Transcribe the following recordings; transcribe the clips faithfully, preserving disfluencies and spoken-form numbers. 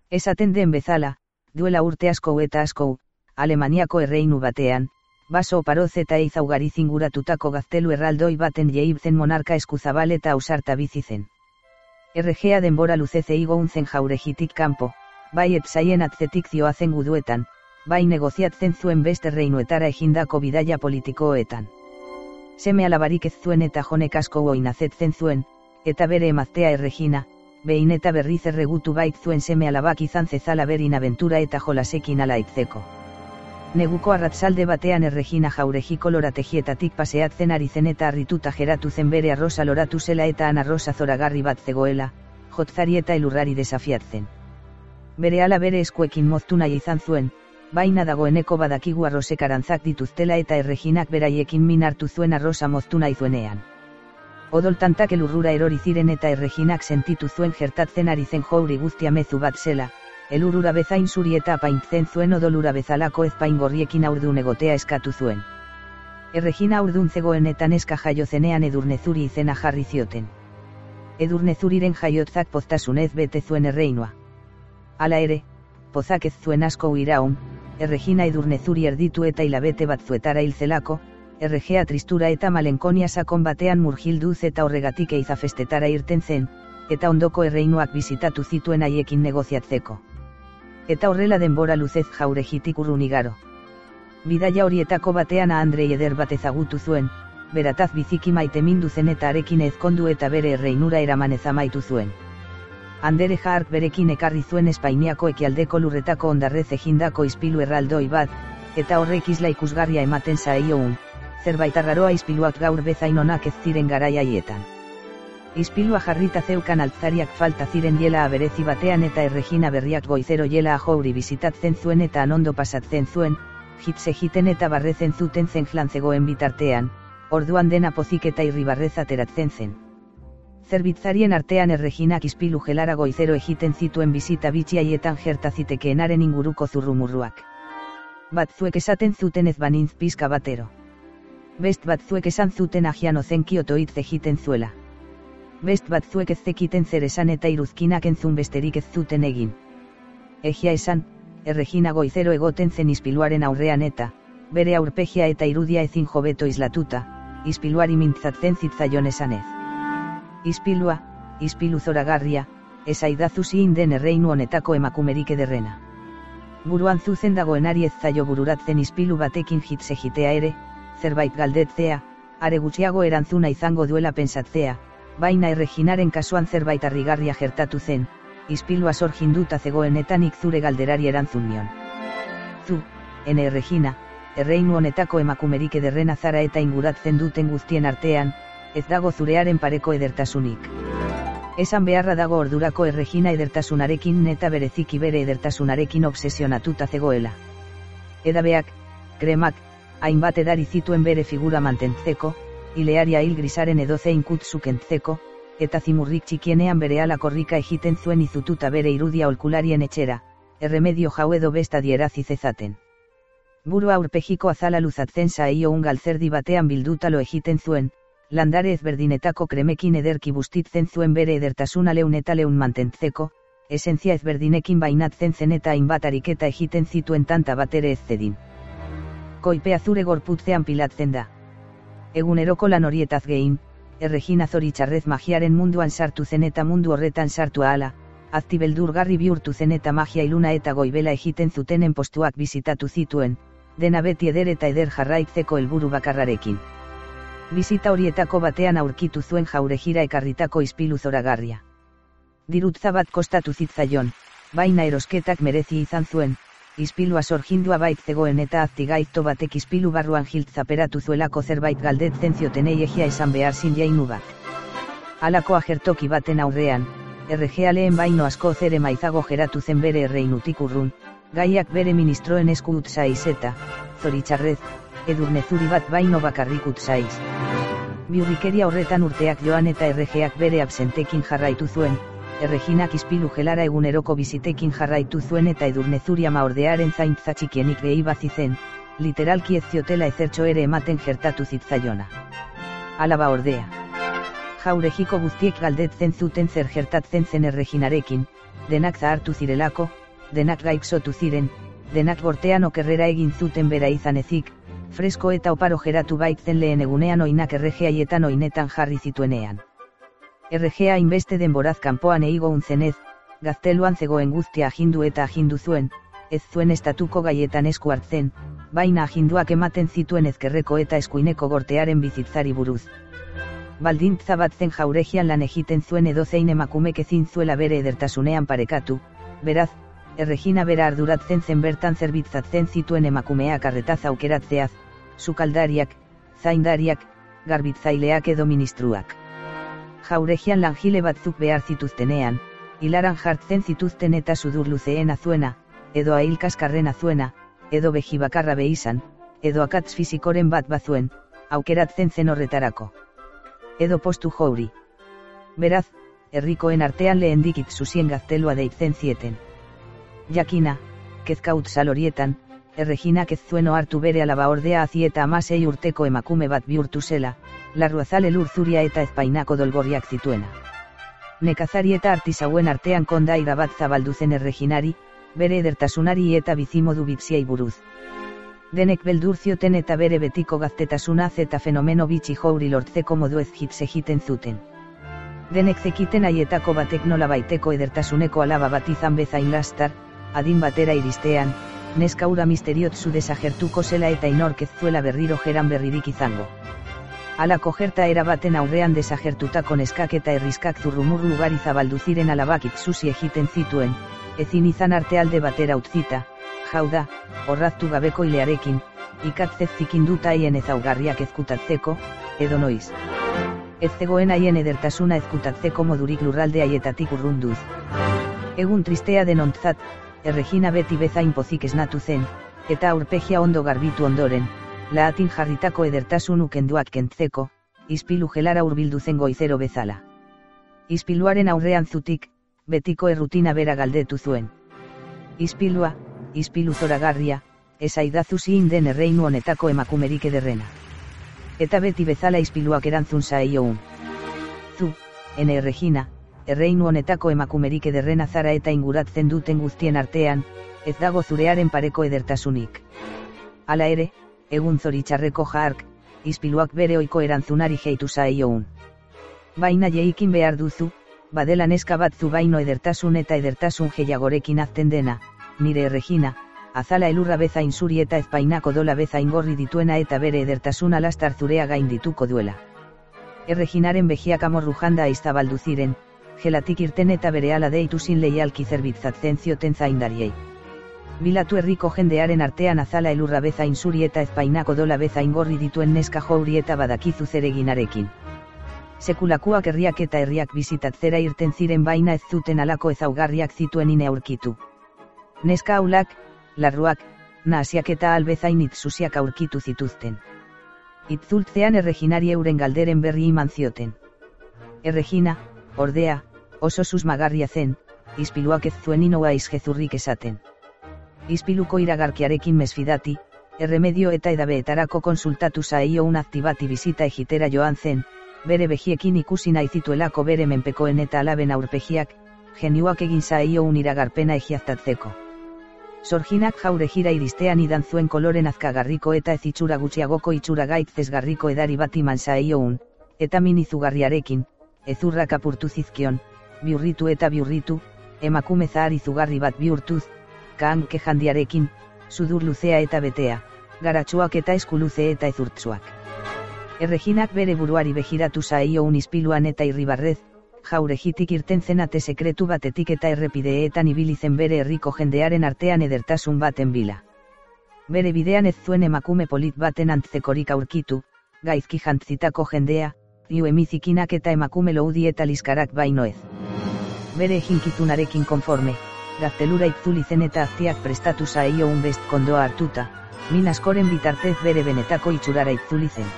Esaten den bezala, duela urte asko eta asko, Alemaniako erreinu batean, baso oparoz eta eizaugariz inguratutako gaztelu erraldoi baten jeibzen monarka eskuzabal eta ausarta bizi zen. Erregea denbora luzez eigoun zen jauregitik kanpo, bai etzaien atzetik zioazen guduetan, bai negoziatzen zuen beste reinuetara egindako bidaia politikoetan. Seme alabarik ez zuen eta jonek asko oinazetzen zuen, eta bere emaztea Erregina, behin eta berriz erregutu bait zuen seme alabak izan zezala berin abentura eta jolasekin alaitzeko. Neguko arratzalde batean Erregina jauregiko lorategietatik paseatzen ari zen eta harrituta geratu zen bere arrosa loratu zela eta han arrosa zoragarri bat zegoela, jotzari eta elurrari desafiatzen. Bere ala bere eskuekin moztu nahi izan zuen, baina dagoeneko badakigu arrosek arantzak dituztela eta Erreginak beraiekin min hartu zuen arrosa moztu nahi zuenean. Odoltantak elurrura erori ziren eta Erreginak sentitu zuen gertatzen ari zen jouri guztia mezu bat zela, elurura bezain zuri eta apaintzen zuen odolura bezalako ezpain gorriekin aurdun egotea eskatu zuen. Erregina aurdun zegoen eta neska jaio zenean Edurnezuri izena jarri zioten. Edurnezuriren jaiotzak poztasunez bete zuen erreinua. Hala ere, pozak ez zuen asko iraun, Erregina Edurnezuri erditu eta hilabete batzuetara hil zelako, erregea tristura eta malenkonia sakon batean murgilduz eta horregatik eizafestetara irten zen, eta ondoko erreinuak bizitatu zituen haiekin negoziatzeko. Eta horrela denbora luzez jauregitik urrun igaro. Bidaia horietako batean Andrei eder bat ezagutu zuen, berataz biziki maite mindu zen eta arekin ezkondu eta bere erreinura eramanez amaitu zuen. Andere Jark berekin ekarri zuen Espainiako ekialdeko lurretako ondarrez egindako ispilu erraldoi bat, eta horrek isla ikusgarria ematen zaioun, zerbait arraroa ispiluak gaur bezain onak ez ziren garai haietan. Ispilua jarrita zeukan altzariak falta ziren jela aberezi batean eta Erregina berriak goizero jela ajouri bizitatzen zuen eta anondo pasatzen zuen, hitze jiten eta barrezen zuten zen flan zegoen bitartean, orduan dena pozik eta irribarrez ateratzen zen. Zerbitzarien artean Erreginak ispilu gelara goizero egiten zituen bizita bitxiaietan gerta zitekeenaren inguruko zurrumurruak. Batzuek esaten zuten ez banintz pizka batero. Best batzuek esan zuten agian ozenki otoitz egiten zuela. Best batzuek ez zekiten zer esan eta iruzkinak entzun besterik ez zuten egin. Egia esan, Erregina goizero egoten zen ispiluaren aurrean eta, bere aurpegia eta irudia ezin hobeto islatuta, ispiluari mintzatzen zitzaion esanez. Ispilua, ispilu zoragarria, esaidazu ziin den erreinu honetako emakumerik ederrena. Buruan zuzen dagoenari ez zaio bururatzen ispilu batekin hitze jitea ere, zerbait galdetzea, are gutxiago erantzuna izango duela pentsatzea, baina Erreginaren kasuan zerbait harrigarria gertatu zen, ispilua sorginduta zegoenetan zure galderari erantzun nion. Zu, ene Erregina, erreinu honetako emakumerik ederrena zara eta inguratzen duten guztien artean, ez dago zurearen pareko edertasunik. Esan beharra dago ordurako Erregina edertasunarekin eta bereziki bere edertasunarekin obsesionatuta zegoela. Edabeak, kremak, hainbat edari zituen bere figura mantentzeko, ilearia hil grisaren edozein kutzuk entzeko, eta zimurrik txikienean bere ala korrika egiten zuen izututa bere irudia olkularien etxera, erremedio jau edo besta dierazi zezaten. Burua aurpegiko azala luzatzen saio un galtzerdi batean bildutalo egiten zuen, landare ezberdinetako kremekin ederki bustitzen zuen bere edertasuna leun eta leun mantentzeko, esentzia ezberdinekin bainatzen zen eta hainbat ariketa egiten zituen tanta batere ez zedin. Koipea zure gorputzean pilatzen da. Eguneroko lan horietaz gehin, Erregina zoritxarrez magiaren munduan sartu zen eta mundu horretan sartu ahala, azti beldurgarri bihurtu zen eta magia iluna eta goibela egiten zutenen postuak bizitatu zituen, dena beti eder eta eder jarraitzeko helburu bakarrarekin. Bizita horietako batean aurkitu zuen jauregira ekarritako ispilu zoragarria. Dirutza bat kostatu zitzaion, baina erosketak merezi izan zuen, ispilua sorgindua bait zegoen eta aztigaizto batek ispilu barruan jiltzaperatu zuelako zerbait galdetzen ziotenei egia esan behar zin jainu bat. Halako agertoki baten aurrean, erregea lehen baino asko zere maizago geratu zen bere erreinutik urrun, gaiak bere ministroen esku utzaiz eta, zoritxarrez, Edurnezuri bat baino bakarrik utzaiz. Biurrikeria horretan urteak joan eta erregeak bere absentekin jarraitu zuen, Erreginak ispilu gelara eguneroko bizitekin jarraitu zuen eta Edurnezuri ama ordearen zaintza txikienik gehi bazizen, literalki ez ziotela ezertxo ere ematen gertatu zitzaiona. Alaba ordea. Jaurejiko guztiek galdetzen zuten zer gertatzen zen Erreginarekin, denak zahartu zirelako, denak gaixotu ziren, denak gortean okerrera egin zuten bera izan ezik, fresko eta oparo geratu baitzen lehen egunean oinak erregeaietan oinetan jarri zituenean. Erregea hainbeste denboraz kanpoan eigo unzenez, gazteluan zegoen guztia agindu eta agindu zuen, ez zuen estatuko gaietan esku hartzen, baina aginduak ematen zituen ezkerreko eta eskuineko gortearen bizitzari buruz. Baldintza bat zen Jauregian lan egiten zuen edozein emakumek ezin zuela bere edertasunean parekatu, beraz, Erregina bera arduratzen zen bertan zerbitzatzen zituen emakumeak arretaz aukeratzeaz, sukaldariak, zaindariak, garbitzaileak edo ministruak. Jauregian langile batzuk behar zituztenean, hilaran jartzen zituzten eta sudur luzeen azuena, edo ahilkaskarren azuena, edo behi bakarra behizan, edo akatz fizikoren bat bazuen, aukeratzen zen horretarako. Edo postu jouri. Beraz, herrikoen artean lehendik itzuzien gaztelua deitzen zieten. Jakina, kezkaut salorietan, Erreginak ez zuen ohartu bere alaba ordea hazi eta amasei urteko emakume bat bihurtu zela, larruazal elur zuria eta ezpainako dolgorriak zituena. Nekazari eta artisauen artean kondaira bat zabaldu zen Erreginari, bere edertasunari eta bizimodu bitziai buruz. Denek beldur zioten eta bere betiko gaztetasunaz eta fenomeno bitxi jouri lortzeko modu ez hitz egiten zuten. Denek zekiten haietako batek nola baiteko edertasuneko alaba bat izan bezain lastar, adin batera iristean, neska ura misteriotzu desagertuko zela eta inork ez zuela berriro jeran berririk izango. Halako gertaera baten aurrean desagertutako neskak eta herriskak zurrumurru ugari zabaldu ziren alabak itzusi egiten zituen, ezin izan artealde batera utzita, jauda, orraztu gabeko ilearekin, ikatzez zikinduta haien ezaugarriak ezkutatzeko, edo noiz. Ez zegoen haien edertasuna ezkutatzeko modurik lurralde haietatik urrunduz. Egun tristea denontzat, Erregina beti bezain pozik esnatu zen, eta aurpegia ondo garbitu ondoren, lahatin jarritako edertasun ukenduak kentzeko, ispilu gelara hurbildu zen goizero bezala. Ispiluaren aurrean zutik, betiko errutina bera galdetu zuen. Ispilua, ispilu zoragarria, esaidazu zin den erreinu honetako emakumerik ederrena. Eta beti bezala ispiluak erantzun zaioun. Zu, ene Erregina, erreinu honetako emakumerik ederrena zara eta inguratzen duten guztien artean, ez dago zurearen pareko edertasunik. Hala ere, egun zoritxarreko jaark, ispiluak bere ohiko erantzunari jeitu zaioun. Baina jeikin behar duzu, badela neska bat zu baino edertasun eta edertasun gehiagorekin azten dena, nire Erregina, azala elurra bezain zuri eta ezpainako dola bezain gorri dituena eta bere edertasuna lastar zurea gaindituko duela. Erreginaren begiak amorrujanda aizzabaldu ziren, gelatik irten eta berehala deitu zin leialki zerbitzatzen zioten zaindariei. Bilatu herriko jendearen artean azala elurra bezain zuri eta ezpainako dola bezain gorri dituen neska jouri eta badakizu zereginarekin. Sekulakuak herriak eta herriak bizitatzera irten ziren baina ez zuten alako ezaugarriak zituen ine aurkitu. Neska aulak, larruak, nahasiak eta albezain itzusiak aurkitu zituzten. Itzultzean Erreginari euren galderen berri iman zioten. Erregina, ordea, oso susmagarria zen, ispiluak ez zuen inoa izgezurrik esaten. Ispiluko iragarkiarekin mesfidati, erremedio eta edabeetarako konsultatu zaio un aktibati bizita egitera joan zen, bere begiekin ikusi nahi zituelako bere menpekoen eta alaben aurpegiak, geniuak egin zaio un iragarpena egiaztatzeko. Sorginak Jauregira iristean idan zuen koloren azkagarriko eta ez itxura gutxiagoko itxura gaitzesgarriko edari bat iman zaio un, eta min izugarriarekin, ezurrak apurtu zizkion, biurritu eta biurritu, emakume zahar izugarri bat bihurtuz, kaanke jandiarekin, sudur luzea eta betea, garatsuak eta eskuluze eta ezurtsuak. Erreginak bere buruari begiratu zaio un ispiluan eta irribarrez, Jauregitik irten zenate sekretu batetik eta errepideetan ibili zen bere herriko jendearen artean edertasun baten bila. Bere bidean ez zuen emakume polit baten antzekorik aurkitu, gaizki jantzitako jendea, iu emizikinak eta emakume loudi eta liskarak baino ez. Bere jinkizunarekin konforme, gaztelura itzuli zen eta aztiak prestatu zaio un best kondoa hartuta, min askoren bitartez bere benetako itxurara itzuli zen.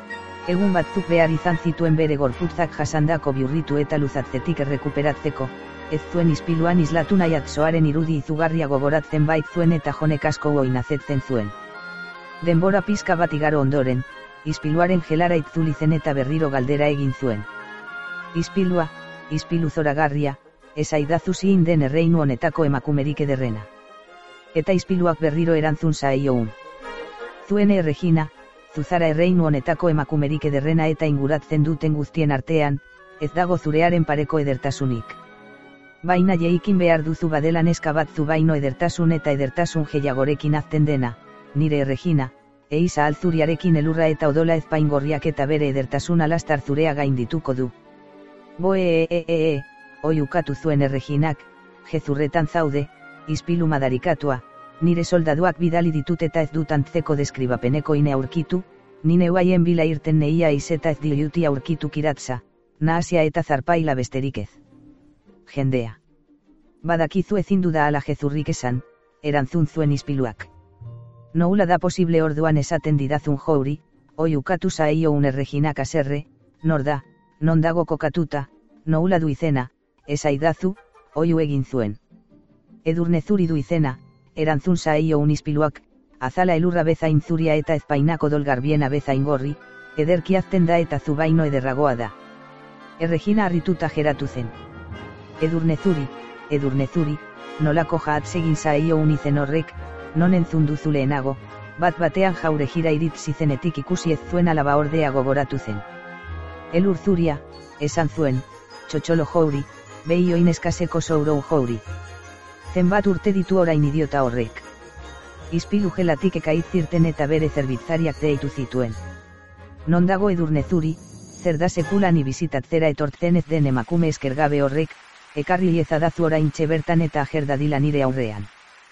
Egun batzuk behar izan zituen bere gorputzak jasandako biurritu eta luzatzetik errekuperatzeko, ez zuen ispiluan islatu nahi atzoaren irudi izugarria gogoratzen bait zuen eta jonek asko oinazetzen zuen. Denbora pizka bat igaro ondoren, ispiluaren gelara itzuli zen eta berriro galdera egin zuen. Ispilua, ispilu zoragarria, esaidazu zin den erreinu honetako emakumerik ederrena. Eta ispiluak berriro erantzun zaioun. Zuene Erregina, zuzara erreinu honetako emakumerik ederrena eta inguratzen duten guztien artean, ez dago zurearen pareko edertasunik. Baina jeikin behar duzu badela neska bat zu baino edertasun eta edertasun gehiagorekin azten dena, nire Erregina, eiza alzuriarekin elurra eta odola ezpaingorriak eta bere edertasun alastar zurea gaindituko du. Boe e e e e, oi ukatu zuen Erreginak, jezurretan zaude, ispilu madarikatua, nire soldaduak bidali ditut eta ez dut antzeko deskribapeneko ine aurkitu, nine uaien bila irten neia izeta ez dioiuti aurkitu kiratza, nahasia eta zarpaila besterik ez. Jendea. Badakizu ezin duda ala jezurrik esan, erantzun zuen ispiluak. Noula da posible orduan esaten didazun jouri, oi ukatu zaio un Erreginak aserre, nor da, non dago kokatuta, noula du izena, esaidazu, oiu egin zuen. Edurnezuri du izena, erantzun zaio un ispiluak, azala elurra bezain zuria eta ezpainako dolgarbiena bezain gorri, ederki azten da eta zubaino ederragoa da. Erregina harrituta geratu zen. Edurnezuri, edurnezuri, nolako jahatzegin zaio un izen horrek, non entzun duzu lehenago, bat batean jaure jira iritz izenetik ikusi ez zuen alaba ordea gogoratu zen. Elur zuria, esan zuen, txotxolo jouri, behi oin eskaseko sourou jouri. Zenbat urte ditu orain idiota horrek. Ispilu gelatik ekaiz zirten eta bere zerbitzariak deitu zituen. Non dago edurnezuri, zer da sekulan ibizitatzera etortzen ez den emakume eskergabe horrek, ekarri liezadazu orain bertan eta ajerdadila nire aurrean.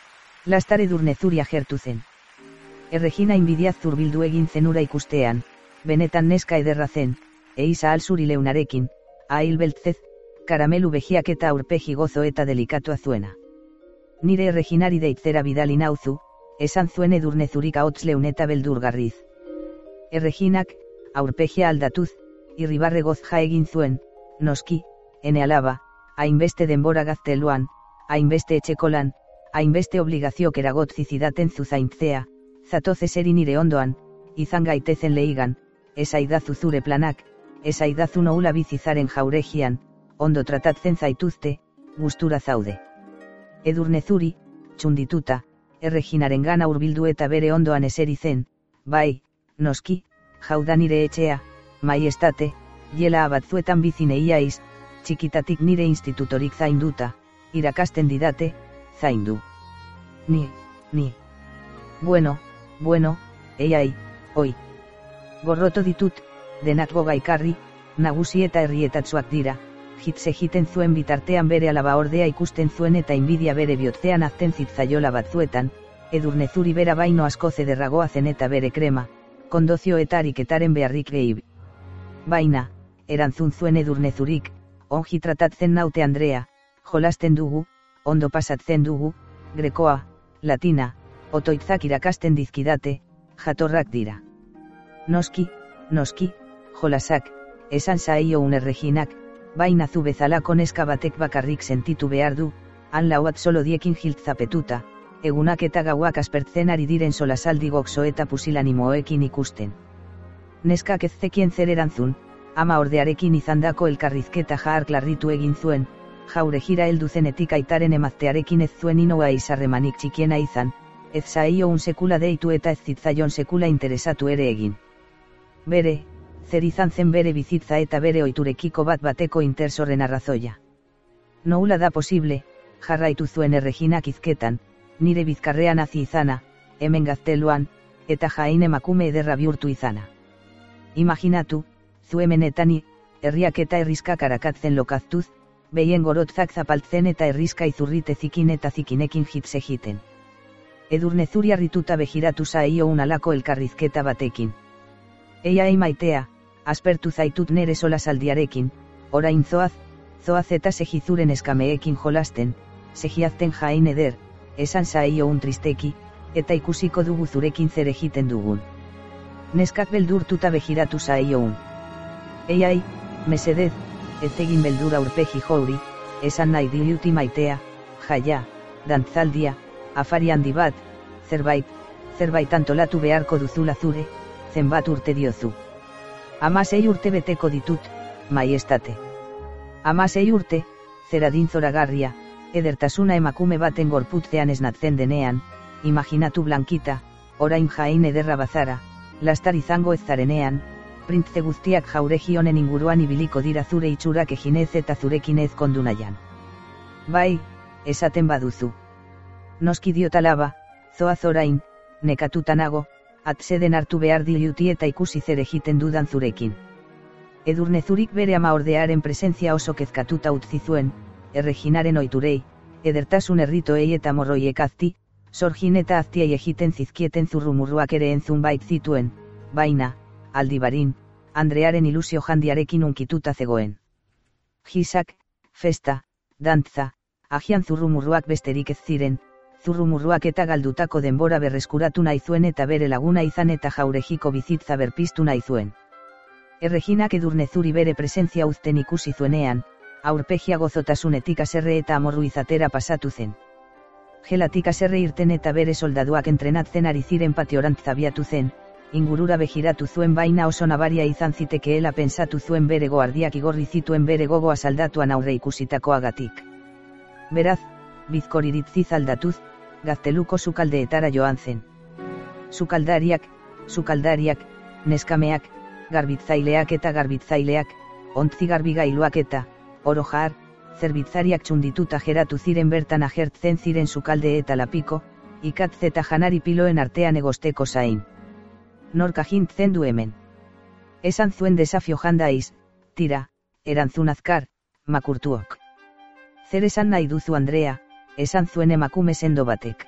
Lastar edurnezuri agertu zen. Erregina inbidiaz zurbildu egin zenura ikustean, benetan neska ederra zen, eiza alzuri leunarekin, ahil beltzez, karamelu behiak eta aurpegi gozo eta delikatua zuena. Nire Erreginari deitzera bidali nauzu, esan zuen edurnezurik ahots leun eta beldurgarriz. Erreginak, aurpegia aldatuz, irribarre gozja egin zuen, noski, ene alaba, hainbeste denbora gazteluan, hainbeste etxekolan, hainbeste obligaziok eragotzi zidaten zuzaintzea, zatoz eseri nire ondoan, izan gaitezen leigan, esaidazu zure planak, esaidazu noula bizizaren jauregian, ondo tratatzen zaituzte, gustura zaude. Edurnezuri, txundituta, Erreginaren gana hurbildu eta bere ondoan eseri zen, bai, noski, jauda nire etxea, maiestate, jela abatzuetan bizineiaiz, txikitatik nire institutorik zainduta, irakasten didate, zaindu. Ni, ni. Bueno, bueno, eiai, oi. Gorroto ditut, denak gogaikarri, nagusi eta herrietatzuak dira, hitz egiten zuen bitartean bere alaba ordea ikusten zuen eta inbidia bere bihotzean azten zitzaiola batzuetan, edurnezuri bera baino asko zederragoa zen eta bere krema, kondozio eta ariketaren beharrik gehib. Baina, erantzun zuen edurnezurik, ongi tratatzen naute Andrea, jolasten dugu, ondo pasatzen dugu, grekoa, latina, otoitzak irakasten dizkidate, jatorrak dira. Noski, noski, jolasak, esan zaio un Erreginak, baina zu bezalako neska batek bakarrik sentitu behar du, han lauat solo diekin jiltzapetuta, egunak eta gauak aspertzen ari diren solasaldi gokso eta pusilanimoekin ikusten. Neskak ez zekien zer erantzun, ama ordearekin izandako elkarrizketa jahark larritu egin zuen, jaure jira heldu zenetik aitaren emaztearekin ez zuen inoa izarremanik txikiena izan, ez zaio un sekula deitu eta ez zitzaion sekula interesatu ere egin. Bere, zer izan zen bere bizitza eta bere oiturekiko bat bateko intersorren arrazoia. Noula da posible, jarraitu zuen Erreginak izketan, nire bizkarrean hazi izana, hemen gazteluan, eta jain emakume ederra bihurtu izana. Imaginatu, zu hemenetani, herriak eta herriskak arakatzen lokaztuz, behien gorotzak zapaltzen eta herriska izurrite zikin eta zikinekin hitz egiten. Edurnezuri harrituta begiratu zaio un alako elkarrizketa batekin. Eia ei maitea, aspertu zaitut nere solasaldiarekin, orain zoaz, zoaz eta segizuren eskameekin jolasten, segiazten jain eder, esan zaio un tristeki, eta ikusiko dugu zurekin zer egiten dugun. Neskak beldurtuta begiratu zaio un. Eiai, mesedez, ez egin beldura aurpegi jouri, esan nahi diluti maitea, jaia, dantzaldia, afari handi bat, zerbait, zerbait antolatu beharko duzula zure, zenbat urte diozu. Hamasei urte beteko ditut, maiestate. Hamasei urte, zeradin zoragarria, edertasuna emakume baten gorputzean esnatzen denean, imaginatu Blankita, orain jain ederra bazara, lastar izango ez zarenean, printze guztiak jauregi honen inguruan ibiliko dira zure itxurak eginez eta zurekin ez kondu nahian. Bai, esaten baduzu. Noski diot alaba, zoaz orain, nekatuta nago, atseden hartu behar diluti eta ikusi zer egiten dudan zurekin. Edurnezurik bere ama ordearen presentzia oso kezkatuta utzi zuen, Erreginaren oiturei, edertasun erritoei eta morroiek azti, sorgin eta aztiei egiten zizkieten zurrumurruak ere entzun bait zituen, baina, aldibarin, Andrearen ilusio jandiarekin unkituta zegoen. Gisak, festa, dantza, agian zurrumurruak besterik ez ziren, zurrumurruak eta galdutako denbora berreskuratu nahi zuen eta bere laguna izan eta jauregiko bizitza berpiztu nahi zuen. Erreginak Edurnezuri bere presentzia uzten ikusi zuenean, aurpegia gozotasunetik aserre eta amorru izatera pasatu zen. Gelatik aserre irten eta bere soldaduak entrenatzen ari ziren patiorantz abiatu zen, ingurura begiratu zuen baina oso nabaria izan zitekeela pensatu zuen bere goardiak igorri zituen bere gogoa saldatuan aurre ikusitakoagatik. Beraz, bizkoriritziz aldatuz, gazteluko sukaldeetara joan zen. Sukaldariak, sukaldariak, neskameak, garbitzaileak eta garbitzaileak, ontzi garbigailuak eta, oro jar, zerbitzariak txundituta geratu ziren bertan agertzen ziren sukalde eta lapiko, ikatz eta janari piloen artean egosteko zain. Norka jintzen du hemen. Esan zuen desafio jandaiz, tira, erantzun azkar, makurtuok. Zer esan nahi duzu Andrea, esan zuen emakume sendo batek.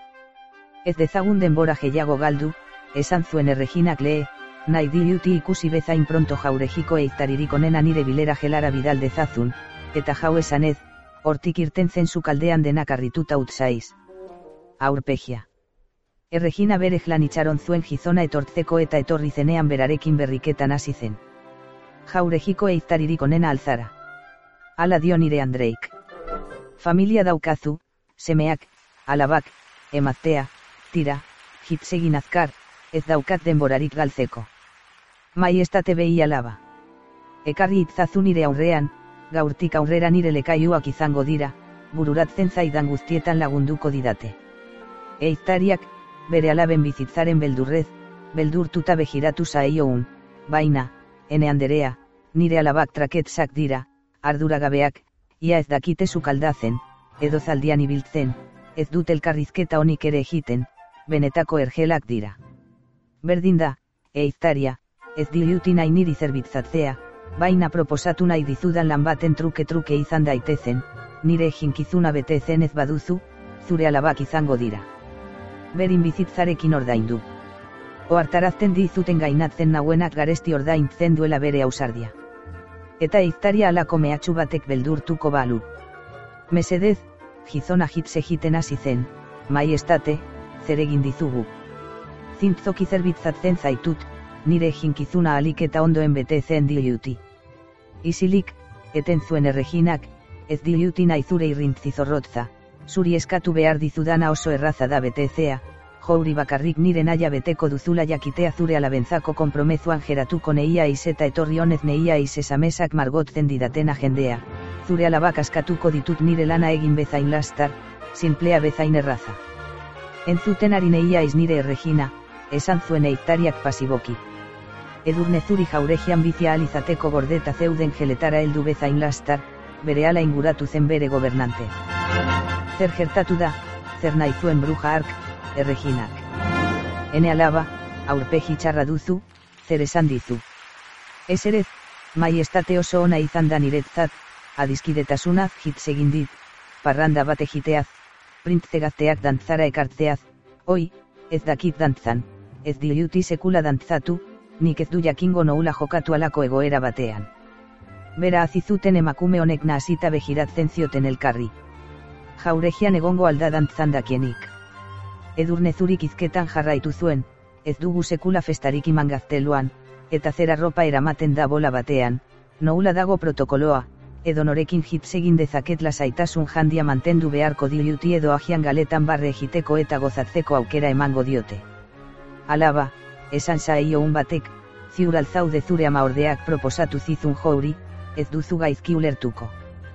Ez dezagun denbora gehiago galdu, esan zuen Erreginak lehe, nahi diluti ikusi bezain pronto jauregiko eiztaririk onena nire bilera gelara bidal dezazun, eta jau esanez, hortik irten zen sukaldean denak arrituta utzaiz. Aurpegia. Erregina bere jlan itxaron zuen gizona etortzeko eta etorri zenean berarekin berriketan hasi zen. Jauregiko eiztaririk onena alzara. Hala dio nire Andreik. Familia daukazu, semeak, alabak, emaztea, tira, hitzegin azkar, ez daukat denborarik galtzeko. Maiestate behi alaba. Ekarri itzazu nire aurrean, gaurtik aurrera nire lekaiuak izango dira, bururatzen zaidan guztietan lagunduko didate. Eiztariak, bere alaben bizitzaren beldurrez, beldurtuta begiratu zaioun, baina, ene Anderea, nire alabak traketzak dira, arduragabeak, ia ez dakite sukaldazen, edo zaldian ibiltzen, ez dut elkarrizketa honik ere egiten, benetako ergelak dira. Berdin da, eiztaria, ez diluti nahi niri zerbitzatzea, baina proposatu nahi dizudan lan baten truke-truke izan daitezen, nire eginkizuna betezen ez baduzu, zure alabak izango dira. Berin bizitzarekin ordaindu. Ohartarazten dizuten gainatzen nauenak garesti ordaintzen duela bere ausardia. Eta eiztaria alako mehatxu batek beldurtuko balu. Mesedez, gizona hitz egiten hasi zen, maiestate, zer egin dizugu. Zintzoki zerbitzatzen zaitut, nire eginkizuna alik eta ondoen betezen diluti. Isilik, eten zuen Erreginak, ez diluti nahi zure irrintzi zorrotza, zuri eskatu behar dizudana oso erraza da betezea, jouri bakarrik nire naia beteko duzula jakitea zure alabentzako konpromezuan geratuko neia iz eta etorri honez neia iz esamesak margotzen didatena jendea, zure alabak askatuko ditut nire lana egin bezain lastar, sinplea bezain erraza. Entzuten ari neia iz nire Erregina, esan zuen eiztariak pasiboki. Edurnezuri jauregian bizia alizateko gordeta zeuden geletara heldu bezain lastar, bere ala inguratu zen bere gobernante. Zer gertatu da, zer nahi zuen bruja hark, Erreginak. Ene alaba, aurpegi txarra duzu, zer esan dizu. Eserez, maiestate oso ona izan da niretzat, adiskidetasunaz hitz egin dit, parranda bat egiteaz, printze gazteak dantzara ekartzeaz, oi, ez dakit dantzan, ez diluti sekula dantzatu, nik ez du jakingo noula jokatu alako egoera batean. Bera azizuten emakume honek nahasita begiratzen zioten elkarri. Jauregian egongo alda dantzan dakienik. Edurnezurik izketan jarraitu zuen, ez dugu sekula festarik iman gazteluan, eta zer arropa eramaten da bola batean, noula dago protokoloa, edo norekin hitz egin dezaket lasaitasun jandia mantendu beharko diluti edo agian galetan barre egiteko eta gozatzeko aukera emango diote. Alaba, esan zaio un batek, ziur alzaude zure ama ordeak proposatu zizun jouri, ez duzu gaizki ulertuko.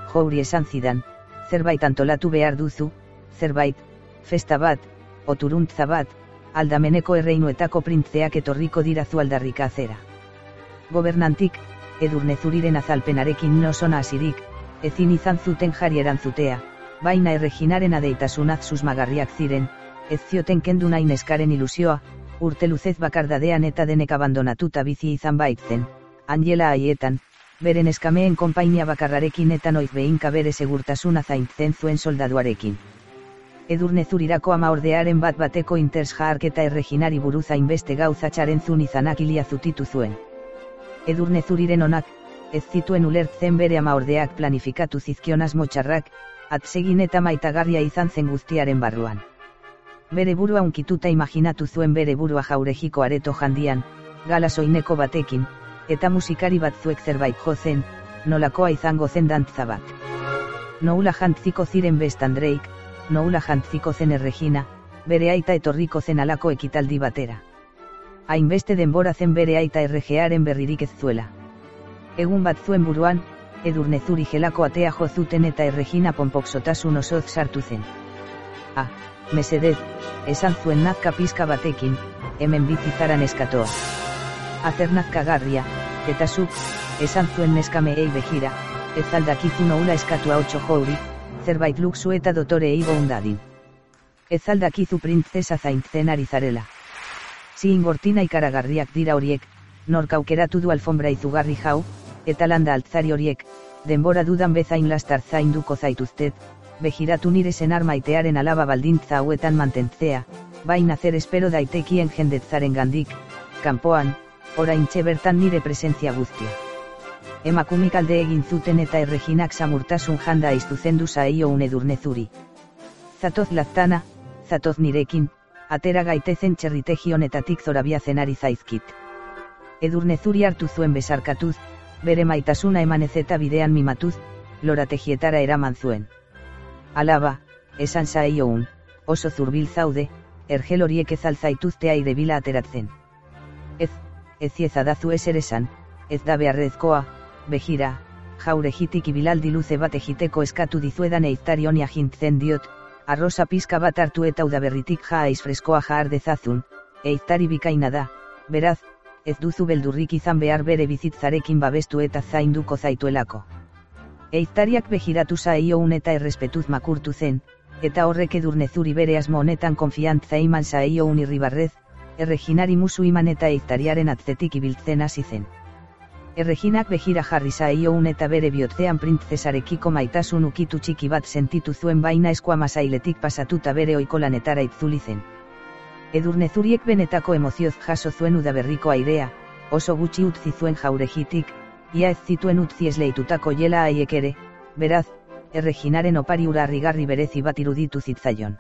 jouri esan zidan, zerbait antolatu behar duzu, zerbait, festa bat, oturuntza bat, aldameneko erreinuetako printzeak etorriko dirazu aldarrikazera. Gobernantik, Edurnezuriren azalpenarekin nosona hasirik, ezin izan zuten jari erantzutea, baina erreginaren adeitasunaz susmagarriak ziren, ez zioten kendu nahi neskaren ilusioa, urte luzez bakardadean eta denek abandonatuta bizi izan baitzen, Angela haietan, beren eskameen konpainia bakarrarekin eta noiz behinka bere segurtasuna zaintzen zuen soldaduarekin. Edurnezurirako ama ordearen bat bateko inters jaharketa erreginari buruz hainbeste gauzatxaren zun izanak ilia zutitu zuen. Edurnezuriren onak, ez zituen ulertzen bere ama ordeak planifikatu zizkion asmo txarrak, atsegin eta maitagarria izan zen guztiaren barruan. Bere burua unkituta imaginatu zuen bere burua jaurejiko areto jandian, gala soineko batekin, eta musikari batzuek zerbait jozen, nolakoa izango zen dantza bat. Noula jantziko ziren bestandreik, noula jantziko zen erregina, bere aita etorriko zen alako ekitaldi batera. Hainbeste denbora zen bere aita erregearen berririk ez zuela. Egun bat zuen buruan, Edurnezuri gelako atea jo zuten eta erregina ponpoksotasun osoz sartu zen. Ah, mesedez, esan zuen nazka pizka batekin, hemen bizizaran eskatoa. Azer nazkagarria, eta zuk, esan zuen neskameei begira, ez aldakizu noula eskatua otxo jouri, zerbait luxu eta dotore eigo undadin. Ez aldakizu printzesa zaintzen ari zarela. Ziin gortina ikaragarriak dira horiek, nork aukeratu du alfombra izugarri jau, eta landa altzari horiek, denbora dudan bezain lastar zainduko zaituztet, begiratu nire senar maitearen alaba baldintza hauetan mantentzea, baina zer espero daitekien jendetzaren gandik, kanpoan, oraintxe bertan nire presentzia guztia. Emakumik alde egin zuten eta erreginak samurtasun janda aiztuzendu zaio un Edurnezuri. Zatoz laztana, zatoz nirekin, atera gaitezen txerritegi honetatik zorabiazen ari zaizkit. Edurnezuri hartu zuen besarkatuz, bere maitasuna emanez eta bidean mimatuz, lorategietara eraman zuen. Alaba, esan zaio un, oso zurbil zaude, ergel horiek ez alzaituzte aire bila ateratzen. Ez, ez iezadazu ezer esan, ez da beharrezkoa, begira, jauregitik ibilaldi luze bat egiteko eskatu dizuedan eiztari honi agintzen diot, arroza pizka bat hartu eta udaberritik jaiz freskoa jaar dezazun, eiztari bikaina da, beraz, ez duzu beldurrik izan behar bere bizitzarekin babestu eta zainduko zaituelako. Eiztariak begiratu zaio un eta errespetuz makurtu zen, eta horrek Edurnezuri bere asmo honetan konfiantza iman zaio un irribarrez, erreginari musu iman eta eiztariaren atzetik ibiltzen hasi zen. Erreginak begira jarri zaio un eta bere bihotzean printzesarekiko maitasun ukitu txiki bat sentitu zuen baina eskuamasailetik pasatuta bere ohiko lanetara itzuli zen. Edurnezuriek benetako emozioz jaso zuen udaberriko airea, oso gutxi utzi zuen jauregitik, ia ez zituen utzi esleitutako jela haiek ere, beraz, erreginaren opari ura harrigarri berezi bat iruditu zitzaion.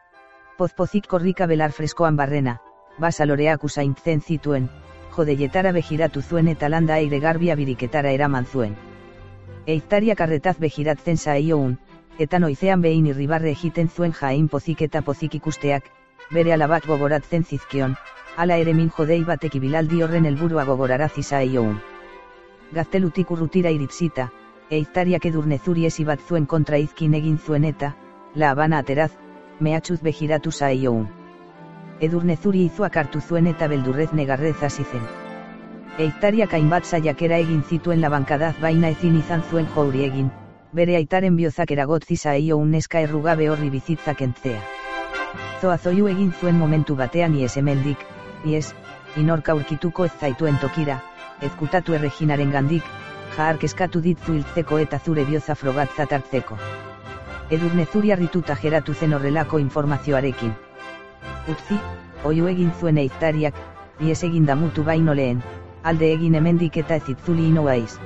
Pozpozik korrika belar freskoan barrena, basaloreak usaintzen zituen, jodeietara begiratu zuen eta landa aire garbia biriketara eraman zuen. Eiztariak arretaz begiratzen zaio un, eta noizean behin irribarre egiten zuen jain pozik eta pozik ikusteak, bere alabak gogoratzen zizkion, hala ere min jodei batek ibilaldi horren helburua gogorarazi zaio un. Gaztelutik urrutira iritzita, eiztariak Edurnezuri ezi bat zuen kontra izkin egin zuen eta, La Habana ateraz, mehatxuz begiratu zaio un. Edurnezuri izuak hartu zuen eta beldurrez negarrez hasi zen. Eiztariak hainbat saiakera egin zituen labankadaz baina ezin izan zuen jouri egin, bere aitaren biozak eragotzi zaio un neska errugabe horri bizitzak entzea. Zoazoiu egin zuen momentu batean ies hemendik, ies, inork aurkituko ez zaituen tokira, ezkutatu erreginaren gandik, jahark eskatu ditzu hiltzeko eta zure bioza frogatzat hartzeko. Edurnezuri harrituta geratu zen horrelako informazioarekin. Utzi, oiu egin zuen eiztariak, ies egin damutu baino lehen, alde egin hemendik eta ez itzuli inoaiz.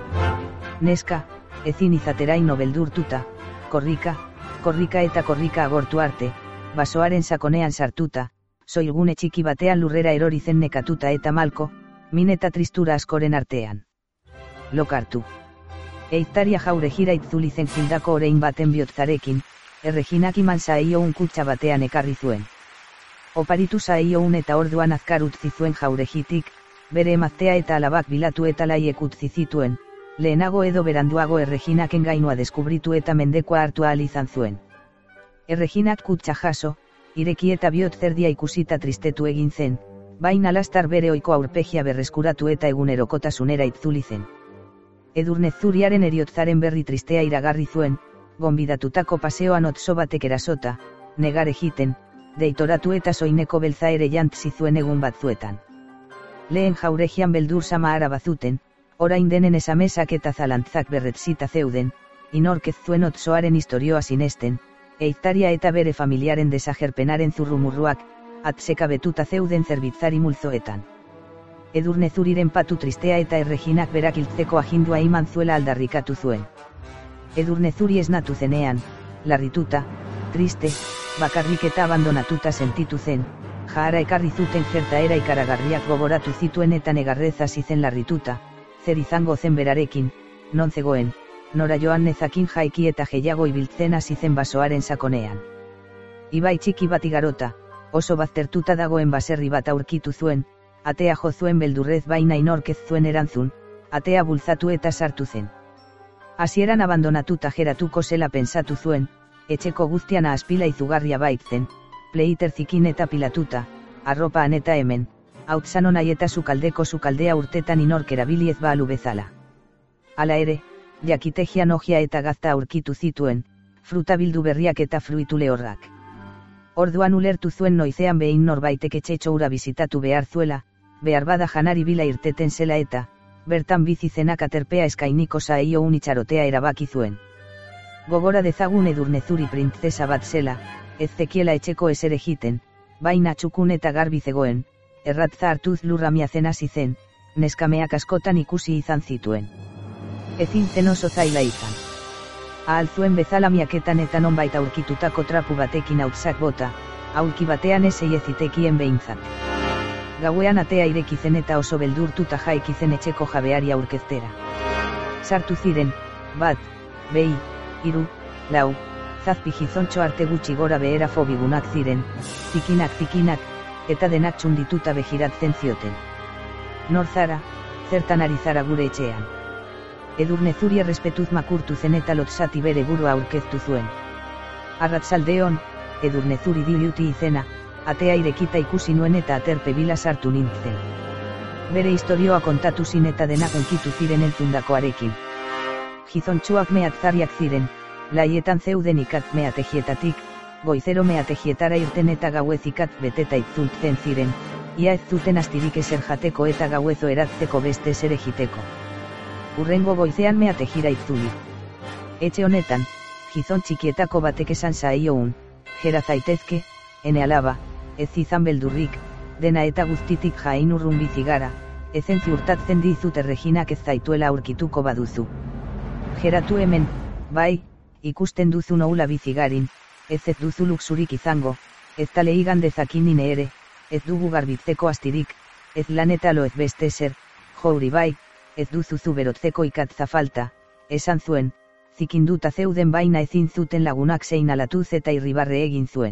Neska, ezin izateraino beldurtuta, korrika, korrika eta korrika agortu arte, basoaren sakonean sartuta, soilgune txiki batean lurrera erori zen nekatuta eta malko, min eta tristura askoren artean. Lokartu. Eiztaria jauregira itzuli zen gildako orein baten bihotzarekin, erreginak iman zaio un kutxa batean ekarri zuen. Oparitu zaio un eta orduan azkar utzi zuen jauregitik, bere emaztea eta alabak bilatu eta laiek utzi zituen, lehenago edo beranduago Erreginaken gainua deskubritu eta mendekoa hartu ahal izan zuen. Erreginak kutxa jaso, ireki eta bihot zerdia ikusita tristetu egin zen, baina lastar bere ohiko aurpegia berreskuratu eta egunerokotasunera itzuli zen. Edurne Zuriaren eriotzaren berri tristea iragarri zuen, gonbidatutako paseoan otso batek erasota, negar egiten, deitoratu eta soineko beltza ere jantzi zuen egun batzuetan. Lehen jauregian beldur sama ara bazuten, orain denen esamesak eta zalantzak berretzita zeuden, inork ez zuen otsoaren historioa sinesten, eiztaria eta bere familiaren desagerpenaren zurrumurruak, atzeka betuta zeuden zerbitzari multzoetan. Edurne Zuriren patu tristea eta Erreginak berak hiltzeko agindua eman zuela aldarrikatu zuen. Edurne Zuri esnatu zenean, larrituta, triste, bakarrik eta abandonatuta sentitu zen, jahara ekarri zuten gertaera ikaragarriak gogoratu zituen eta negarrez hasi zen larrituta, zer izango zen berarekin, non zegoen, nora joan nezakin jaiki eta gehiago ibiltzen hasi zen basoaren sakonean. Ibai txiki bat igarota, oso baztertuta dagoen baserri bat aurkitu zuen, atea jo zuen beldurrez baina inork ez zuen erantzun, atea bultzatu eta sartu zen. Hasieran abandonatuta geratuko zela pentsatu zuen, etxeko guztian aspila izugarria baitzen, pleiter zikin eta pilatuta, arropaan eta hemen, hautzan onai eta sukaldeko sukaldea urtetan inork erabili ez balu bezala. Hala ere, jakitegian ojia eta gazta aurkitu zituen, fruta bildu berriak eta fruitu lehorrak. Orduan ulertu zuen noizean behin norbaitek etxetxo ura bizitatu behar zuela, behar bada janari bila irteten zela eta, bertan bizi zenak aterpea eskainiko zaio un itxarotea erabaki zuen. Gogora dezagun Edurne Zuri printzesa bat zela, ez zekiela etxeko ezer egiten, baina txukun eta garbi zegoen, erratza hartuz lurra miazen hasi zen, neskameak askotan ikusi izan zituen. Ezin zen oso zaila izan. Ahal zuen bezala miaketan eta nonbait aurkitutako trapu batekin hautzak bota, aulki batean esei ezitekien behintzat. Gauean atea ireki zen eta oso beldurtuta jaiki zen etxeko jabeari aurkeztera. Sartu ziren, bat, behi, hiru, lau, zazpi gizontxo arte gutxi gora behera fobigunak ziren, zikinak zikinak, eta denak txundituta begiratzen zioten. Nor zara, zertan ari zara gure etxean. Edurne Zuri errespetuz makurtu zen eta lotsati bere burua aurkeztu zuen. Arratsaldeon, Edurne Zuri diluti izena, atea irekita ikusi nuen eta aterpe bila sartu nintzen. Bere historioa kontatu zin eta denak onkitu ziren entzundakoarekin. Gizontxuak mehatzariak ziren, laietan zeuden ikat meategietatik, goizero meategietara irten eta gauez ikat beteta itzultzen ziren, ia ez zuten astirik ezer jateko eta gauezo eratzeko beste ezer egiteko. Urrengo goizean meategira itzuli. Etxe honetan, gizon txikietako batek esan zaio un, gera zaitezke, ene alaba, ez izan beldurrik, dena eta guztitik jain urrun bizigara, ezen ziurtatzen dizut Erreginak ez zaituela aurkituko baduzu. Geratu hemen, bai, ikusten duzu noula bizigarin, ez ez duzu luxurik izango, ez tale igan dezakin nine ere, ez dugu garbitzeko astirik, ez lan eta lo ez beste zer, jouri bai, ez duzuzu berotzeko ikatza falta, esan zuen, zikinduta zeuden baina ezin zuten lagunak zein alatuz eta irribarre egin zuen.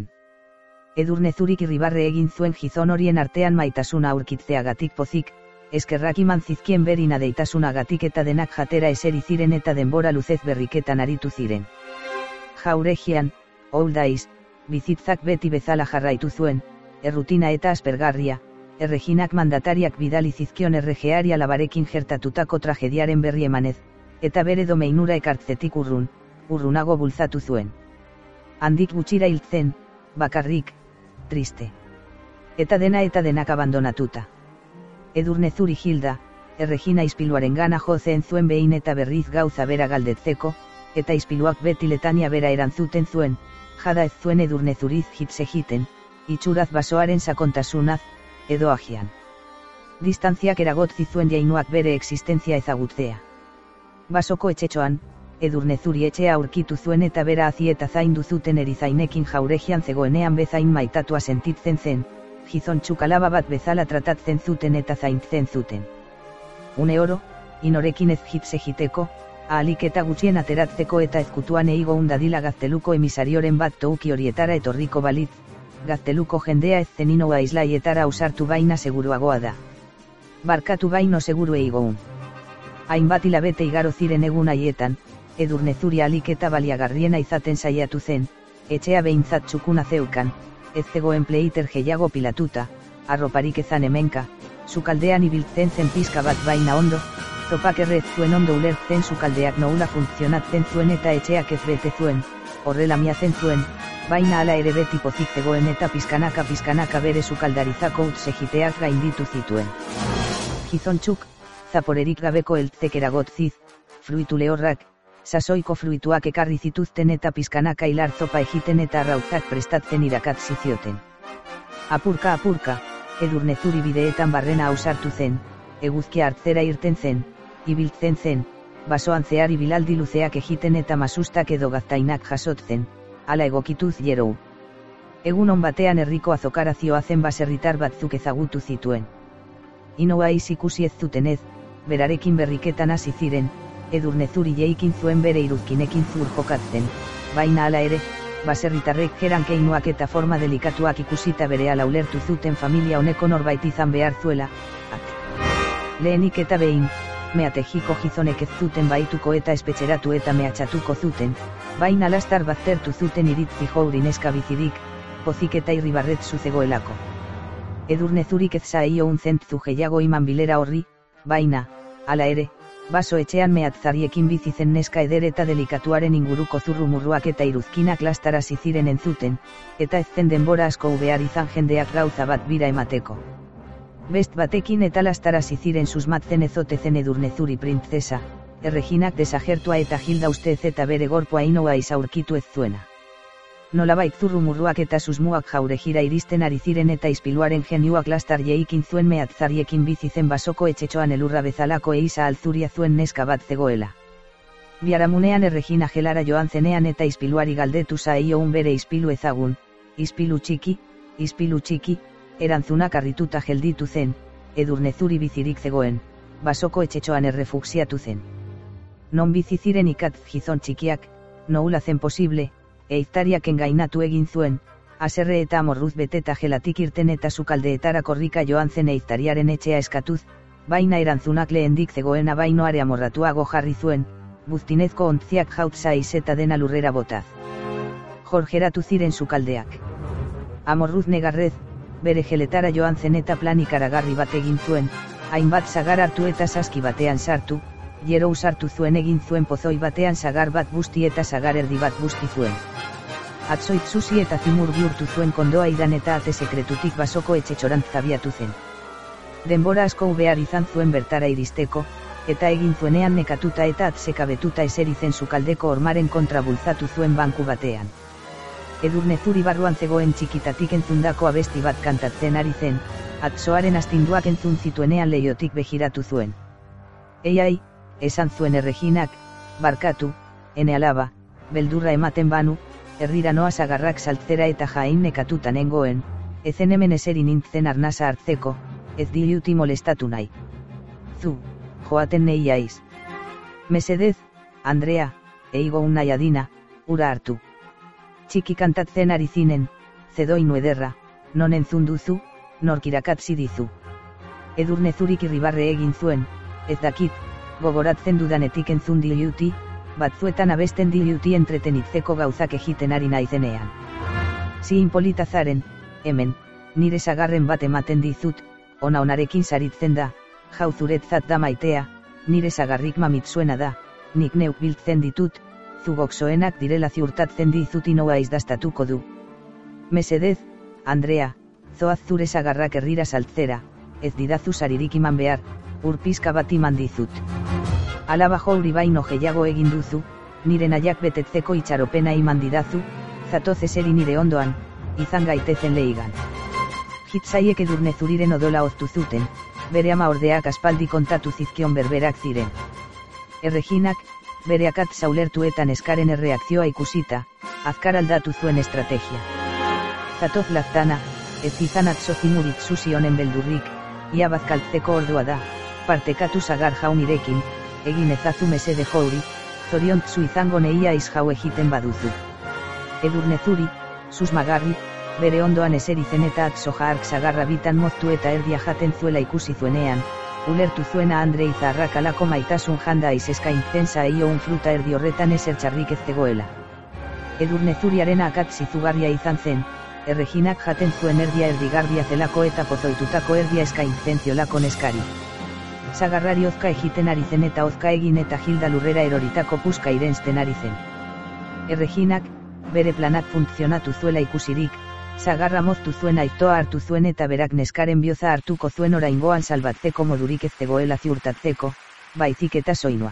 Edurne Zurik irribarre egin zuen gizon horien artean maitasuna aurkitzeagatik pozik, eskerrak iman zizkien berina deitasunagatik eta denak jatera eseri ziren eta denbora luzez berriketan aritu ziren. Jauregian, old days, bizitzak beti bezala jarraitu zuen, errutina eta aspergarria, Erreginak mandatariak bidali zizkion erregeari alabarekin gertatutako tragediaren berri emanez, eta bere domeinura ekartzetik urrun, urrunago bultzatu zuen. Handik gutxira hiltzen, bakarrik, triste. Eta dena eta denak abandonatuta. Edurne Zuri Hilda, Erregina ispiluaren gana jo zen zuen behin eta berriz gauza bera galdetzeko, eta ispiluak beti letania bera erantzuten zuen, jada ez zuen Edurne Zuriz hitz egiten, itxuraz basoaren sakontasunaz, edo agian. Distantziak eragotzi zuen jainuak bere existentzia ezagutzea. Basoko etxetxoan, Edurne Zuri etxea aurkitu zuen eta bera hazi eta zaindu zuten erizainekin jauregian zegoenean bezain maitatua sentitzen zen, gizon txukalaba bat bezala tratatzen zuten eta zaintzen zuten. Une oro, inorekin ez hitz egiteko, ahalik eta gutxien ateratzeko eta ezkutuan eigo undadila Gazteluko emisarioren bat touki horietara etorriko balitz, Gazteluko jendea ez zeninoa islaietara ausartu baina seguruagoa da. Barkatu baino seguru eigoun. Hainbat hilabete igaro ziren egun haietan, Edurnezuri alik eta baliagarriena izaten saiatu zen, etxea behintzat txukuna zeukan, ez zegoen pleiter gehiago pilatuta, arroparik ezan hemenka, sukaldean ibiltzen zen pizka bat baina ondo, zopak errez zuen ondo ulertzen sukaldeak noula funtzionatzen zuen eta etxeak ez bete zuen, horrela miazen zuen, baina hala ere beti pozik zegoen eta pizkanaka pizkanaka bere sukaldarizako utzegiteak gainditu zituen. Gizontxuk, zaporerik gabeko eltzek eragotziz, fruitu lehorrak, sasoiko fruituak ekarri zituzten eta pizkanaka hilar zopa egiten eta arrautzak prestatzen irakatzi zioten. Apurka apurka, Edurnezuri bideetan barrena ausartu zen, eguzkia hartzera irten zen, ibiltzen zen, basoan zehar ibilaldi luzeak egiten eta masustak edo gaztainak jasotzen, hala egokituz jerou. Egun on batean herriko azokara zioazen baserritar batzuk ezagutu zituen. Inoa ikusi ez zutenez, berarekin berriketan hasi ziren, Edurnezuri jeikin zuen bere iruzkinekin zur jokatzen, baina hala ere, baserritarrek jerankeinoak eta forma delikatuak ikusita berehala ulertu zuten familia honeko norbait izan behar zuela, ak. Lehenik eta behin, meatejiko gizonek ez zuten baituko eta espetxeratu eta mehatxatuko zuten, baina lastar baztertu zuten iritzi jouri neska bizirik, pozik eta irribarret zuzegoelako. Edurnezurik ez zaio un zentzu gehiago iman bilera horri, baina, hala ere, baso etxean mehatzariekin bizi zen neska eder eta delikatuaren inguruko zurrumurruak eta iruzkinak lastarazi ziren entzuten, eta ez zen denbora asko behar izan jendeak gauza bat bira emateko. Best batekin eta lastarazi ziren susmatzen ezote zen Edurnezuri printzesa, Erreginak desagertua eta Hilda ustez eta bere gorpoa inoa izaurkitu ez zuena. Nolabait zurrumurruak eta susmuak jaurejira iristen ari ziren eta ispiluaren geniuak lastar jeikin zuen mehatzariekin bizi zen basoko etxetxoan elurra bezalako eisa alzuria zuen neska bat zegoela. Biaramunean Erregina gelara joan zenean eta ispiluari galdetu zaio un bere ispilu ezagun, ispilu txiki, ispilu txiki, erantzunak harrituta gelditu zen, Edurnezuri bizirik zegoen, basoko etxetxoan errefuxiatu zen. Non bizi ziren ikatz gizon txikiak, noula zen posible, eiztariak engainatu egin zuen, haserre eta amorruz beteta gelatik irten eta sukaldeetara korrika joan zen eiztariaren etxea eskatuz, baina erantzunak lehendik zegoena bainoare amorratuago jarri zuen, buztinezko ontziak jautza izeta dena lurrera botaz. Jorgeratu ziren sukaldeak. Amorruz negarrez, bere geletara joan zen eta plan ikaragarri bat egin zuen, hainbat sagar hartu eta saski batean sartu, gero usartu zuen egin zuen pozoi batean sagar bat busti eta sagar erdi bat busti zuen. Atzoit zuzi eta zimur bihurtu zuen kondoa idan eta ate sekretutik basoko etxetxorantz zabiatu zen. Denbora asko behar izan zuen bertara iristeko, eta egin zuenean nekatuta eta atzekabetuta eseri zen sukaldeko ormaren kontra bultzatu zuen banku batean. Edurnezuri barruan zegoen txikitatik entzundako abesti bat kantatzen ari zen, atzoaren astinduak entzun zituenean leiotik begiratu zuen. Eiai, esan zuen Erreginak, barkatu, ene alaba, beldurra ematen banu, herrira noa sagarrak saltzera eta jain nekatuta nengoen, ezen hemen eseri nintzen arnasa hartzeko, ez diluti molestatu nahi. Zu, joaten nei aiz. Mesedez, Andrea, eigo unai adina, ura hartu. Txiki kantatzen ari zinen, zedoinu ederra, non entzun duzu, norkirakatzi dizu. Edurnezurik irribarre egin zuen, ez dakit, gogoratzen dudanetik entzun diluti, batzuetan abesten diluti entretenitzeko gauzak egiten ari naizenean. Zi inpolitazaren, hemen, nire sagarren bat ematen dizut, ona onarekin saritzen da, jau zuretzat da maitea, nire sagarrik mamitzuena da, nik neuk biltzen ditut, zugoksoenak direla ziurtatzen dizut inoa izdastatuko du. Mesedez, Andrea, zoaz zure sagarrak herrira saltzera, ez didazu saririk iman behar, urpizka bat iman dizut. Alaba jouri baino gehiago egin duzu, nire nahiak betetzeko itxaropena iman didazu, zatoz eseri nire ondoan, izan gaitezen lehigan. Hitzaiek Edurnezuriren odola oztu zuten, bere ama ordeak aspaldi kontatu zizkion berberak ziren. Erreginak, bere akatz ulertu eta neskaren erreakzioa ikusita, azkar aldatu zuen estrategia. Zatoz laztana, ez izan atzo zimurit zuzi honen beldurrik, ia bazkaltzeko ordua da, partekatu sagar jaunirekin, egin ezazu mesede jouri, zoriontzu izango neia izjau egiten baduzu. Edurnezuri, susmagarri, bere ondoan eseri zen eta atzo jaark sagarra bitan moztu eta erdia jaten zuela ikusi zuenean, ulertu zuena Andre izarrak alako maitasun janda aiz eskaintzen zaio un fruta erdi horretan ezer txarrik ez zegoela. Edurnezuriaren akatz izugarria izan zen, Erreginak jaten zuen erdia erdigarria zelako eta pozoitutako erdia eskaintzen ziolako neskari. Sagarrari ozka egiten ari zen eta ozka egin eta Hilda lurrera eroritako puska irensten ari zen. Erreginak, bere planak funtzionatu zuela ikusirik, sagarra moztu zuen aiztoa hartu zuen eta berak neskaren bioza hartuko zuen oraingoan salbatzeko modurik ez zegoela ziurtatzeko, baizik eta soinua.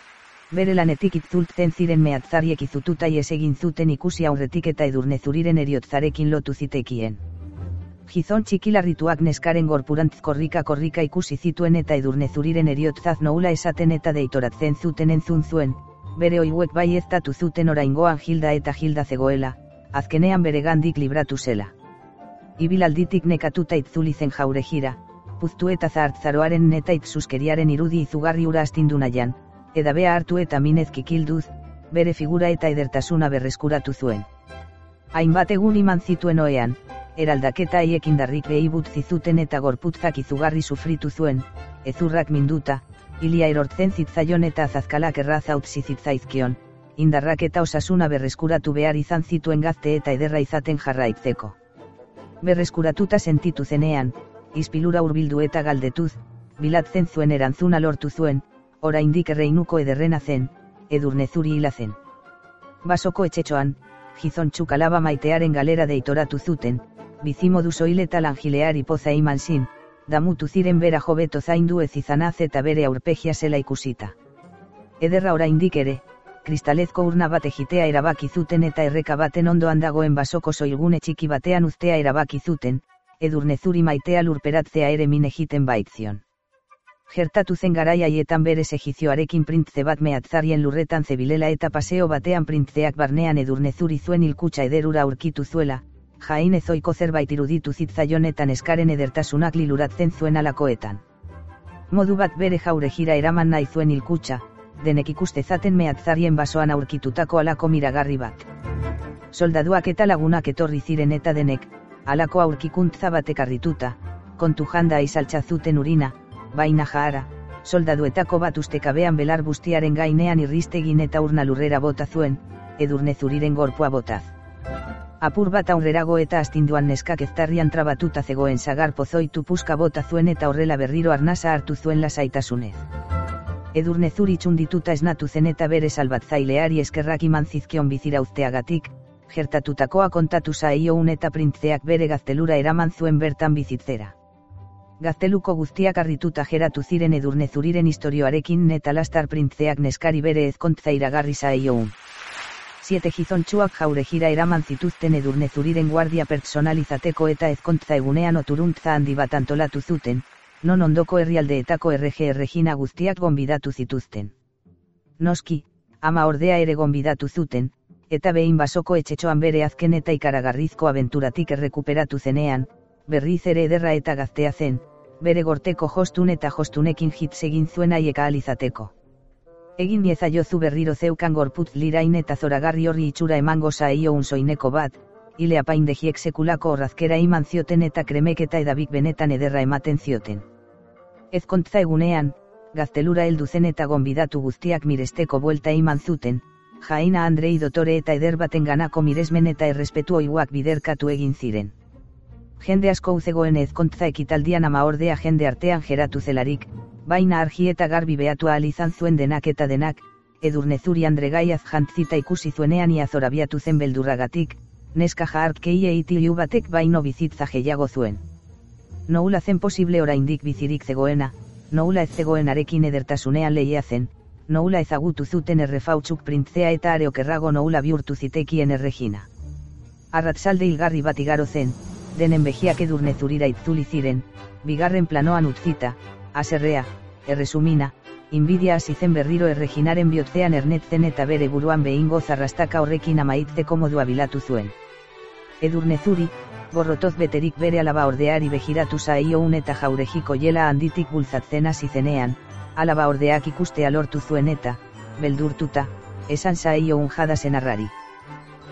Bere lanetik itzultzen ziren mehatzariek izututa ies egin zuten ikusi aurretik eta Edurnezuriren eriotzarekin lotu zitekien. Gizon txikilarrituak neskaren gorpurantz korrika-korrika ikusi zituen eta Edurnezuriren eriotzaz noula esaten eta deitoratzen zuten entzun zuen, bere oihuek bai eztatu zuten oraingoan Hilda eta Hilda zegoela, azkenean bere gandik libratu zela. Ibilalditik nekatuta itzuli zen Jaurejira, puztu eta zahartzaroaren neta itzuskeriaren irudi izugarri ura astindu nahian, edabea hartu eta minez kikilduz, bere figura eta edertasuna berreskuratu zuen. Hainbat egun iman zituen oean, eraldaketa haiek indarrik behi butzi zuten eta gorputzak izugarri sufritu zuen, ezurrak minduta, hilia erortzen zitzaion eta azazkalak erraza utzi zitzaizkion, indarrak eta osasuna berreskuratu behar izan zituen gazte eta ederra izaten jarraitzeko. Berreskuratuta sentitu zenean, ispilura hurbildu eta galdetuz, bilatzen zuen erantzuna lortu zuen, oraindik erreinuko ederrena zen, Edurnezuri hila zen. Basoko etxetxoan, gizontxuk alaba maitearen galera deitoratu zuten, bizimodu soil eta langileari poza iman zin, damutu ziren bera jobeto zaindu ez izanaz eta bere aurpegia zela ikusita. Ederra oraindik ere, kristalezko urna bat egitea erabaki zuten eta erreka baten ondoan dagoen basoko soilgune txiki batean uztea erabaki zuten, Edurnezuri maitea lurperatzea ere min egiten baitzion. Gertatu zen garai haietan bere segizioarekin printze bat mehatzarien lurretan zebilela eta paseo batean printzeak barnean Edurnezuri zuen hilkutxa ederura aurkitu zuela, jain ezoiko zerbait iruditu zitzaion eta neskaren edertasunak liluratzen zuen alakoetan. Modu bat bere Jaurejira eraman nahi zuen hilkutxa, denek ikustezaten mehatzarien basoan aurkitutako alako miragarri bat. Soldaduak eta lagunak etorri ziren eta denek, alako aurkikuntza batek harrituta, kontu janda izaltza zuten urina, baina jahara, soldaduetako bat ustekabean belar bustiaren gainean irristegin eta urna lurrera bota zuen, Edurnezuriren gorpua botaz. Apur bat aurrerago eta astinduan neskak eztarrian trabatuta zegoen sagar pozoitu puska bota zuen eta horrela berriro arnasa hartu zuen lasaitasunez. Edurnezuri txundituta esnatu zen eta bere salbatzaileari eskerrak iman zizkion bizirauzteagatik, gertatutakoa kontatu zaioun eta printzeak bere gaztelura eraman zuen bertan bizitzera. Gazteluko guztiak harrituta geratu ziren Edurnezuriren istorioarekin eta lastar printzeak neskari bere ezkontza iragarri zaioun. Siete gizontxuak Jaurejira eraman zituzten Edurnezuriren guardia pertsonalizateko eta ezkontza egunean oturuntza handi bat antolatu zuten, non ondoko herrialdeetako errege erregina guztiak gonbidatu zituzten. Noski, ama ordea ere gonbidatu zuten, eta behin basoko etxetxoan bere azken eta ikaragarrizko abenturatik errekuperatu zenean, berriz ere ederra eta gaztea zen, bere gorteko jostun eta jostunekin hitz egin zuen haiek ahal izateko. Egin niezaiozu berriro zeukan gorputz lirain eta zoragarri horri itxura emango zaio un soineko bat, hile apaindegiek sekulako horrazkera iman zioten eta kremek eta edabik benetan ederra ematen zioten. Ezkontza egunean, gaztelura heldu zen eta gonbidatu guztiak miresteko buelta iman zuten, jaina Andrei dotore eta eder baten ganako miresmen eta errespetu oihuak biderkatu egin ziren. Jende asko uzegoen ezkontza ekitaldian ama ordea jende artean geratu zelarik, baina argi eta garbi behatu ahal izan zuen denak eta denak, Edurnezuri Andregaiaz jantzita ikusi zuenean ia zorabiatu zen beldurragatik, neska jahartkei eitilu batek baino bizitza gehiago zuen. Noula zen posible oraindik bizirik zegoena, noula ez zegoenarekin edertasunean lehia zen, noula ezagutu zuten errefautsuk printzea eta are okerrago noula bihurtu zitekien erregina. Arratzalde hilgarri bat igaro zen, denen begiak Edurnezurira itzuli ziren, bigarren planoan utzita, aserrea, erresumina, inbidia hasi zen berriro erreginaren bihotzean ernetzen eta bere buruan behingo zarrastaka horrekin amaitzeko modua bilatu zuen. Edurnezuri, gorrotoz beterik bere alaba ordeari begiratu zaioun eta Jaurejiko jela handitik bultzatzen hasi zenean, alaba ordeak ikustea lortu zuen eta, beldurtuta, esan zaioun jada senarrari.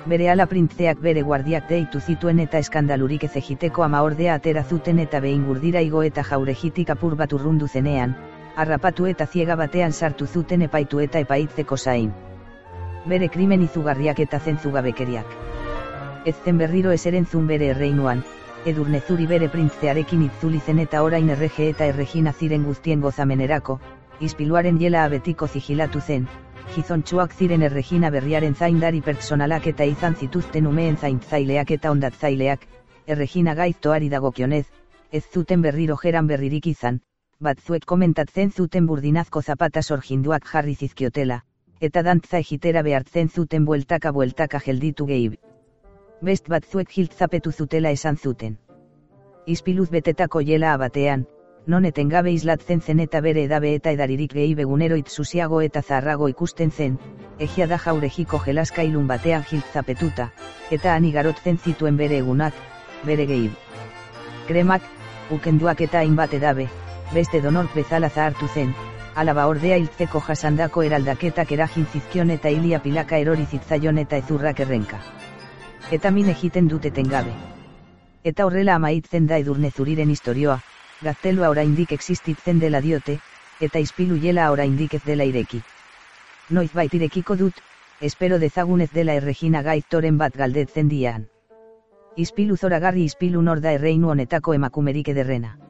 Berehala printzeak bere guardiak deitu zituen eta eskandalurik ez egiteko ama ordea atera zuten eta behin gurdira igo eta jauregitik apur bat urrundu zenean, harrapatu eta ziega batean sartu zuten epaitu eta epaitzeko zain. Bere krimen izugarriak eta zentzugabekeriak. Ez zen berriro eserentzun bere erreinuan, Edurnezuri bere printzearekin itzuli zen eta orain errege eta erregina ziren guztien gozamenerako, ispiluaren jela abetiko zigilatu zen, gizontsuak ziren erregina berriaren zaindari pertsonalak eta izan zituzten umeen zaintzaileak eta ondatzaileak, erregina gaiztoari dagokionez, ez zuten berriro jeran berririk izan, batzuek komentatzen zuten burdinazko zapata sorginduak jarri zizkiotela, eta dantza egitera behartzen zuten bueltaka bueltaka gelditu gehi. Best batzuek giltzapetu zutela esan zuten. Ispiluz betetako jela abatean, non etengabe islatzen zen eta bere edabe eta edaririk gehi begunero itzusiago eta zaharrago ikusten zen, egia da jauregiko jelaskailun batean giltzapetuta, eta han igarotzen zituen bere egunak, bere gehi. Kremak, ukenduak eta hainbat edabe, beste donork bezala zahartu zen, alaba ordea hiltzeko jasandako eraldaketak eragin zizkion eta hilia pilaka erori zitzaion eta ezurrak errenka. Eta min egiten dut etengabe. Eta horrela amaitzen da Edurnezuriren istorioa, gaztelua oraindik existitzen dela diote, eta ispilu jela oraindik ez dela ireki. Noizbait irekiko dut, espero dezagun ez dela erregina gaiztoren bat galdetzen dian. Ispilu zoragarri ispilu nor da erreinu honetako emakumerik ederrena.